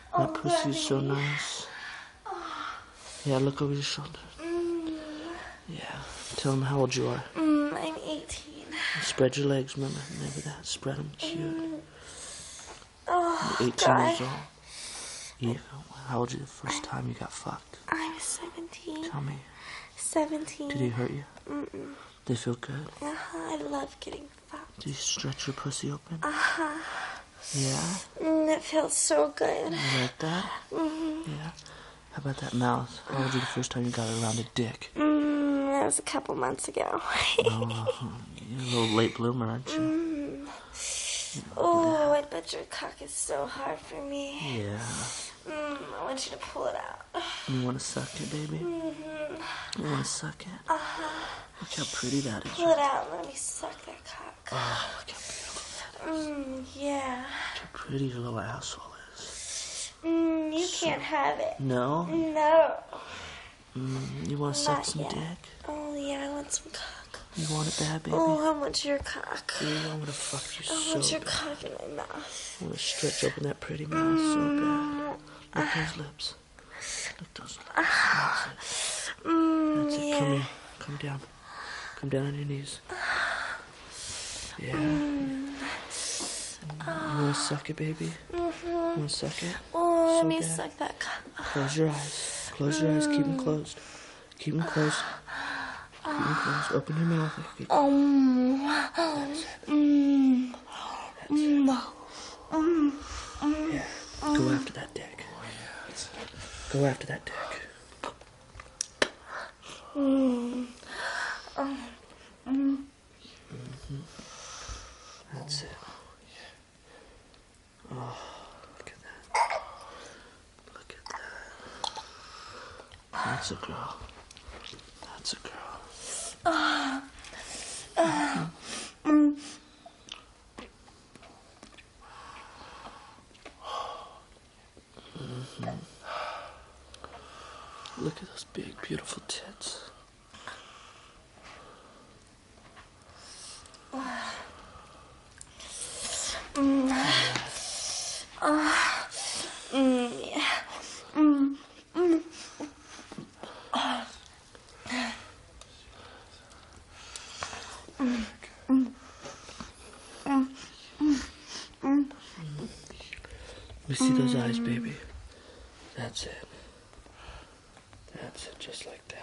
My pussy's so nice. Yeah, look over your shoulder. Yeah. Tell him how old you are. I'm 18. Spread your legs, remember that. Spread them cute. Oh, You're 18 God. years old. Yeah. How old were you the first time you got fucked? I was 17. Tell me. 17. Did he hurt you? Mm-mm. Did it feel good? I love getting fucked. Did you stretch your pussy open? Yeah. Yeah? It feels so good. You like that? Yeah. How about that mouth? How old were you the first time you got it around a dick? That was a couple months ago. Oh, you're a little late bloomer, aren't you? Oh, I bet your cock is so hard for me. Yeah. I want you to pull it out. You want to suck it, baby? You want to suck it? Look how pretty that is. Pull it out and let me suck that cock. Oh, look how beautiful that is. Yeah. Look how pretty your little asshole is. You can't have it. No? No. You want to suck Not some yet. dick? Oh, yeah, I want some cock. You want it bad, baby? Oh, I want your cock. Yeah, I want to fuck you I so want your bad. cock in my mouth. I want to stretch open that pretty mouth so bad. Look those lips. Look those lips. That's it. That's it. Yeah. Come here. Come down. Come down on your knees. Yeah. You want to suck it, baby? You want to suck it? Oh, let So me bad. suck that cock. Close your eyes. Close your eyes. Keep them closed. Keep them closed. Keep them closed. Open your mouth. Yeah. Go after that dick. Go after that dick. That's it. Oh, look at that. Look at that. That's a girl. That's a girl. Look at those big, beautiful tits. We see those eyes, baby. That's it. That's it, just like that.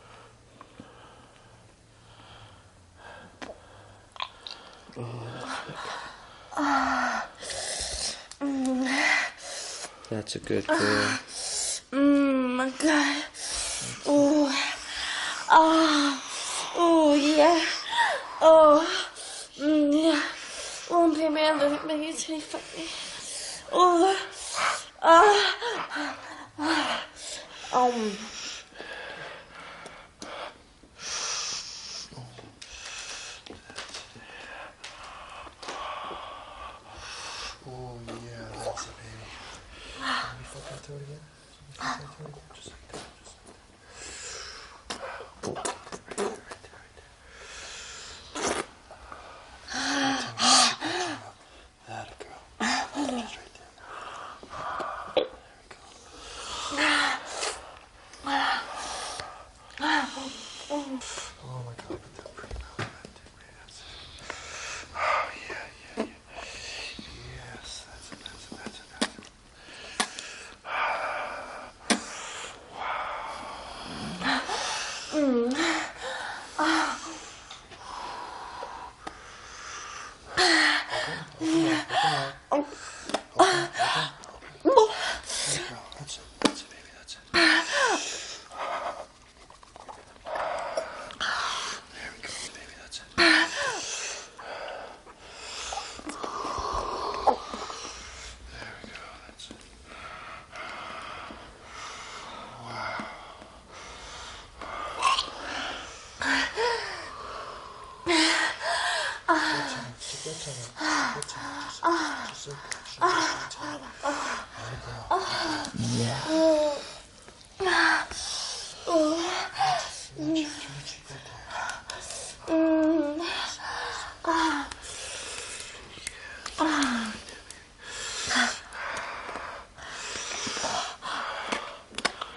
Oh, that's a good girl. My God. Oh. Oh, yeah. Oh. Yeah. Oh, baby, I love it. Baby, it's really funny. Oh. Oh yeah, that's it, baby. Let me fuck that throat again. Just like that. That girl. Just right there. There we go. Oh my God, put that pretty mouth on that dick, baby. That's it. Oh yeah. Yes, that's it. That's it, baby. That's it. There we go, baby. That's it. There we go. That's it.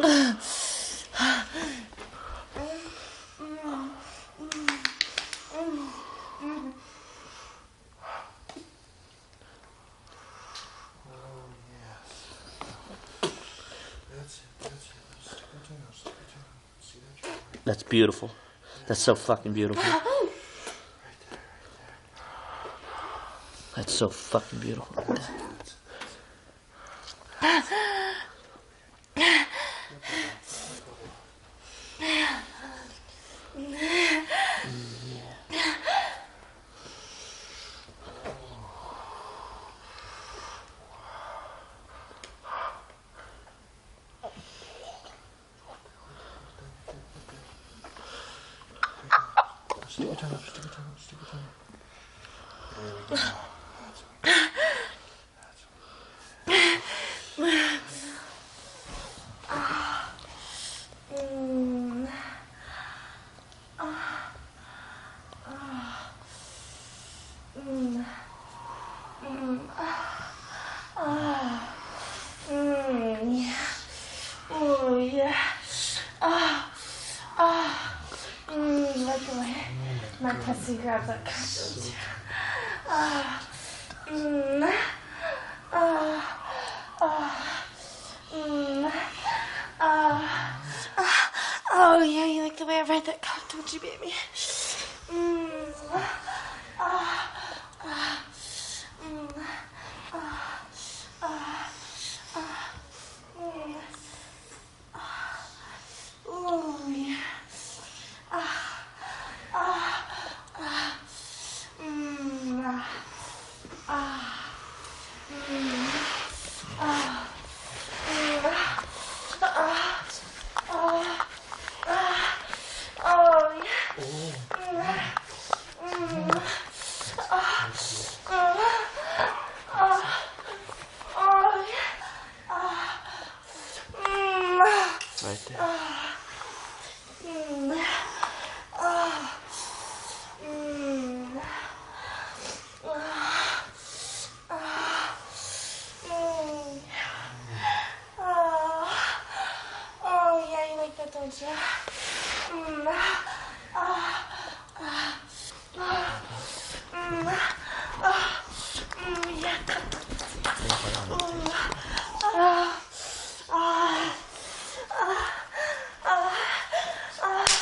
That's beautiful. That's so fucking beautiful. That's so fucking beautiful. Right there. Stick your tongue up, stick your tongue up, stick your tongue up. There we go. Oh yeah. Like the way my pussy grabs that cockroach. Oh yeah, you like the way I ride that cock, don't you, baby? Oh yeah. Right there. Oh yeah, you like that, don't you? Yeah.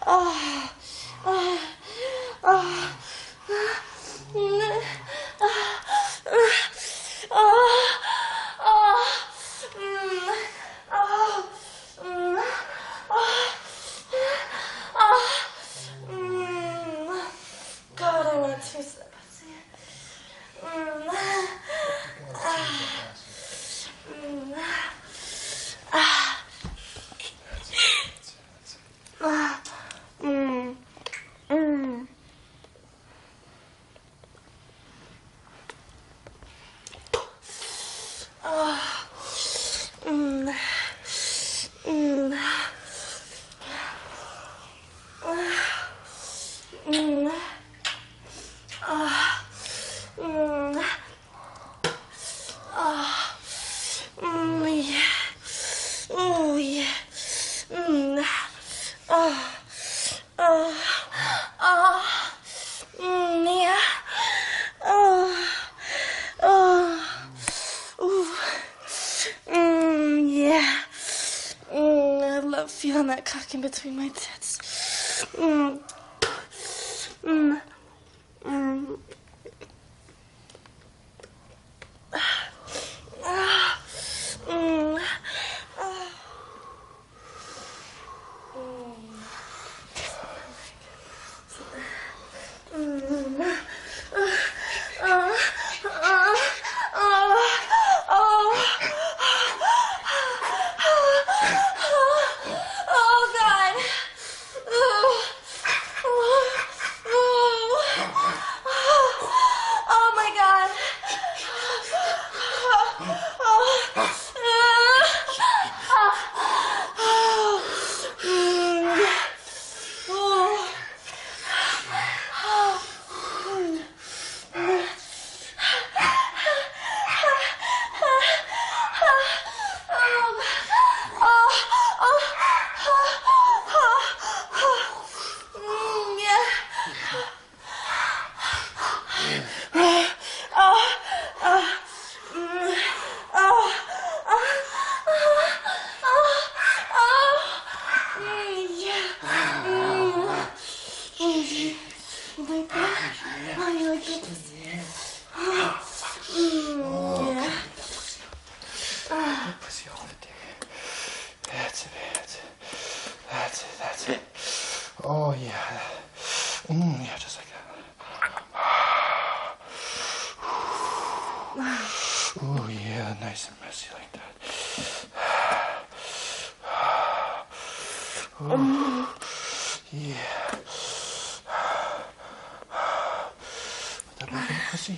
God, I want to taste that pussy. I love feeling that cock in between my tits. That's it. Oh, yeah. Yeah, just like that. Oh, yeah, nice and messy like that. Oh, yeah. Put that back in the pussy.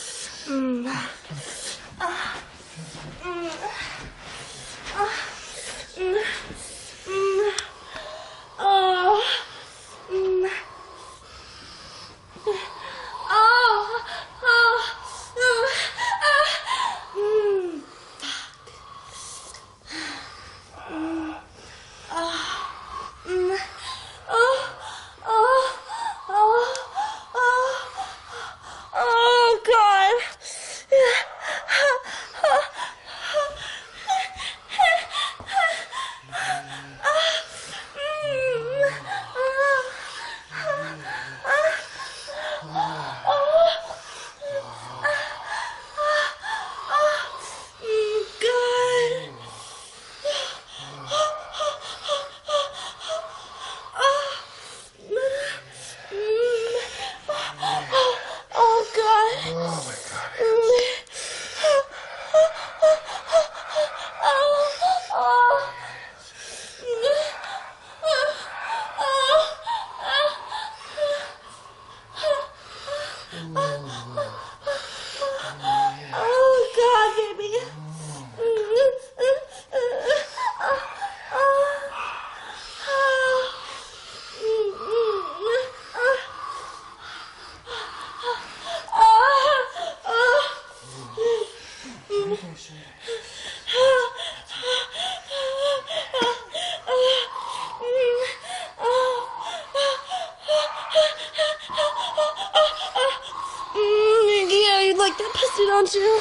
Yeah, you like that pussy, don't you?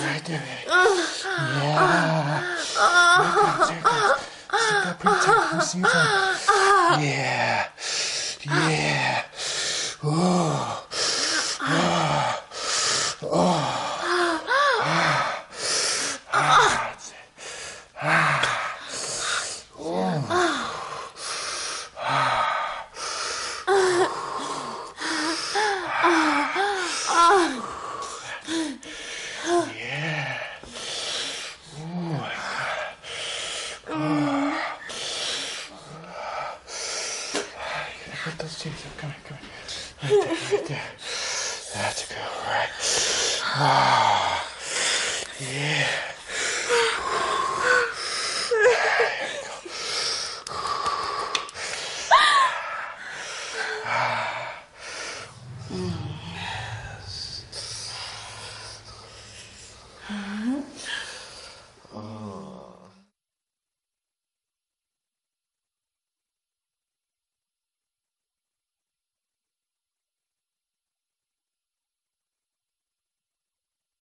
Right there, baby. Yeah. There it goes. Sit up pretty tight. Let me see your tongue. Yeah. Yeah. Oh. That's it. Yeah. Oh my God. You gotta put those teeth up. Come here. Right there. That's a good, right? Yeah. There you go.